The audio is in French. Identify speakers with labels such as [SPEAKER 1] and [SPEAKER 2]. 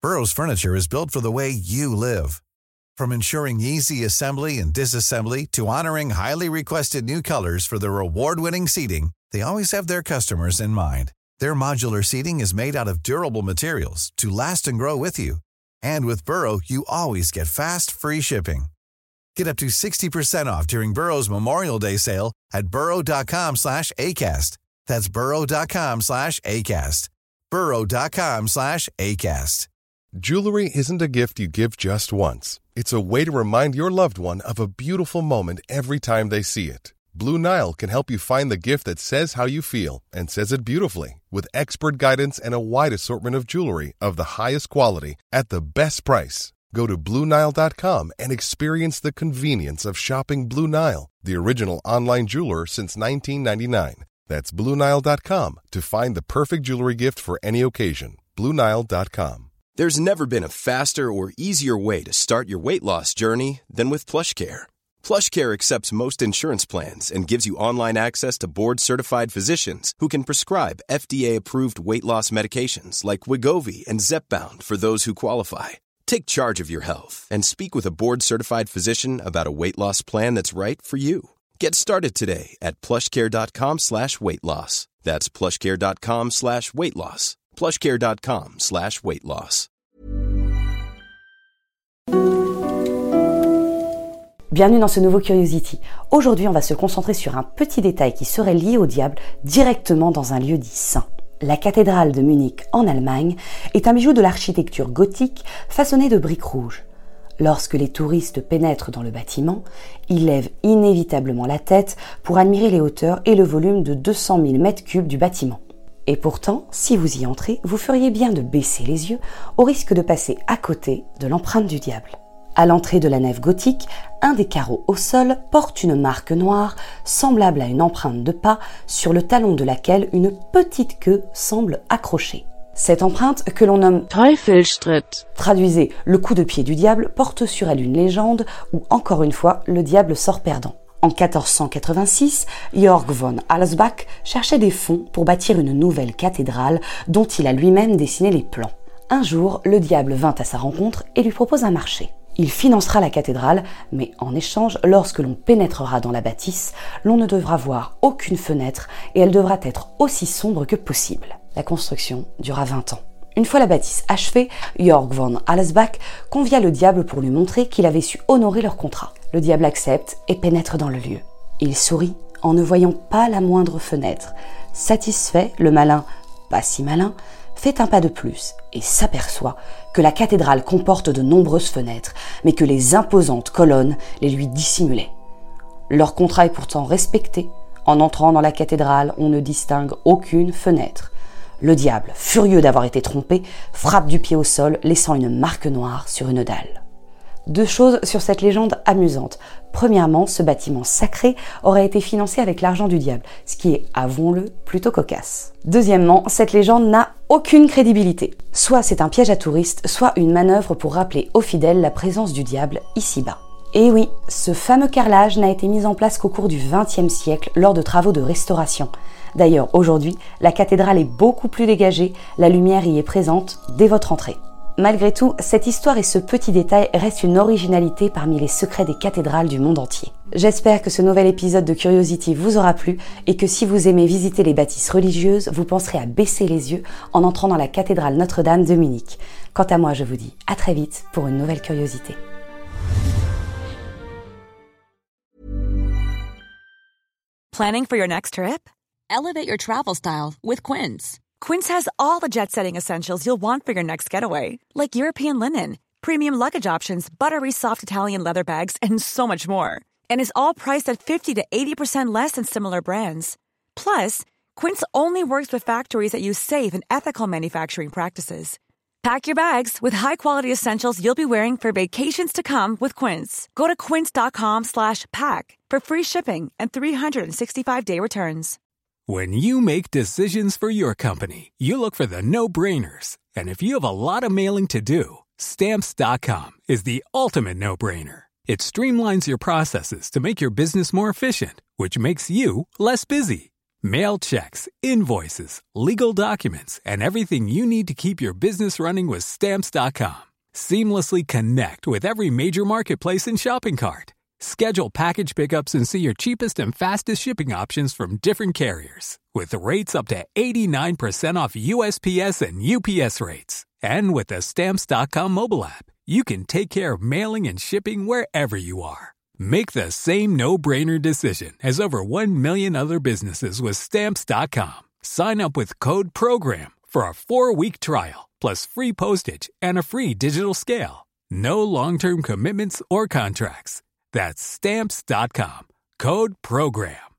[SPEAKER 1] Burrow's furniture is built for the way you live. From ensuring easy assembly and disassembly to honoring highly requested new colors for their award-winning seating, they always have their customers in mind. Their modular seating is made out of durable materials to last and grow with you. And with Burrow, you always get fast, free shipping. Get up to 60% off during Burrow's Memorial Day sale at burrow.com/ACAST. That's burrow.com/ACAST. burrow.com/ACAST.
[SPEAKER 2] Jewelry isn't a gift you give just once. It's a way to remind your loved one of a beautiful moment every time they see it. Blue Nile can help you find the gift that says how you feel and says it beautifully, with expert guidance and a wide assortment of jewelry of the highest quality at the best price. Go to BlueNile.com and experience the convenience of shopping Blue Nile, the original online jeweler since 1999. That's BlueNile.com to find the perfect jewelry gift for any occasion. BlueNile.com.
[SPEAKER 3] There's never been a faster or easier way to start your weight loss journey than with PlushCare. PlushCare accepts most insurance plans and gives you online access to board-certified physicians who can prescribe FDA-approved weight loss medications like Wegovy and Zepbound for those who qualify. Take charge of your health and speak with a board-certified physician about a weight loss plan that's right for you. Get started today at plushcare.com/weight loss. That's plushcare.com/weight loss. plushcare.com/weight loss.
[SPEAKER 4] Bienvenue dans ce nouveau Curiosity. Aujourd'hui, on va se concentrer sur un petit détail qui serait lié au diable directement dans un lieu dit saint. La cathédrale de Munich en Allemagne est un bijou de l'architecture gothique façonné de briques rouges. Lorsque les touristes pénètrent dans le bâtiment, ils lèvent inévitablement la tête pour admirer les hauteurs et le volume de 200 000 mètres cubes du bâtiment. Et pourtant, si vous y entrez, vous feriez bien de baisser les yeux au risque de passer à côté de l'empreinte du diable. À l'entrée de la nef gothique, un des carreaux au sol porte une marque noire semblable à une empreinte de pas sur le talon de laquelle une petite queue semble accrochée. Cette empreinte, que l'on nomme Teufelsschritt, traduisez le coup de pied du diable, porte sur elle une légende où, encore une fois, le diable sort perdant. En 1486, Georg von Alsbach cherchait des fonds pour bâtir une nouvelle cathédrale dont il a lui-même dessiné les plans. Un jour, le diable vint à sa rencontre et lui propose un marché. Il financera la cathédrale, mais en échange, lorsque l'on pénétrera dans la bâtisse, l'on ne devra voir aucune fenêtre et elle devra être aussi sombre que possible. La construction dura 20 ans. Une fois la bâtisse achevée, Georg von Alsbach convia le diable pour lui montrer qu'il avait su honorer leur contrat. Le diable accepte et pénètre dans le lieu. Il sourit en ne voyant pas la moindre fenêtre. Satisfait, le malin, pas si malin, fait un pas de plus et s'aperçoit que la cathédrale comporte de nombreuses fenêtres, mais que les imposantes colonnes les lui dissimulaient. Leur contrat est pourtant respecté. En entrant dans la cathédrale, on ne distingue aucune fenêtre. Le diable, furieux d'avoir été trompé, frappe du pied au sol, laissant une marque noire sur une dalle. Deux choses sur cette légende amusante. Premièrement, ce bâtiment sacré aurait été financé avec l'argent du diable, ce qui est, avouons-le, plutôt cocasse. Deuxièmement, cette légende n'a aucune crédibilité. Soit c'est un piège à touristes, soit une manœuvre pour rappeler aux fidèles la présence du diable ici-bas. Et oui, ce fameux carrelage n'a été mis en place qu'au cours du XXe siècle lors de travaux de restauration. D'ailleurs, aujourd'hui, la cathédrale est beaucoup plus dégagée, la lumière y est présente dès votre entrée. Malgré tout, cette histoire et ce petit détail restent une originalité parmi les secrets des cathédrales du monde entier. J'espère que ce nouvel épisode de Curiosity vous aura plu et que si vous aimez visiter les bâtisses religieuses, vous penserez à baisser les yeux en entrant dans la cathédrale Notre-Dame de Munich. Quant à moi, je vous dis à très vite pour une nouvelle curiosité.
[SPEAKER 5] Planning for your next trip? Elevate your travel style with Quince. Quince has all the jet-setting essentials you'll want for your next getaway, like European linen, premium luggage options, buttery soft Italian leather bags, and so much more. And is all priced at 50 to 80% less than similar brands. Plus, Quince only works with factories that use safe and ethical manufacturing practices. Pack your bags with high-quality essentials you'll be wearing for vacations to come with Quince. Go to quince.com/pack for free shipping and 365-day returns.
[SPEAKER 6] When you make decisions for your company, you look for the no-brainers. And if you have a lot of mailing to do, Stamps.com is the ultimate no-brainer. It streamlines your processes to make your business more efficient, which makes you less busy. Mail checks, invoices, legal documents, and everything you need to keep your business running with Stamps.com. Seamlessly connect with every major marketplace and shopping cart. Schedule package pickups and see your cheapest and fastest shipping options from different carriers, with rates up to 89% off USPS and UPS rates. And with the Stamps.com mobile app, you can take care of mailing and shipping wherever you are. Make the same no-brainer decision as over 1 million other businesses with Stamps.com. Sign up with code PROGRAM for a 4-week trial, plus free postage and a free digital scale. No long-term commitments or contracts. That's Stamps.com. Code PROGRAM.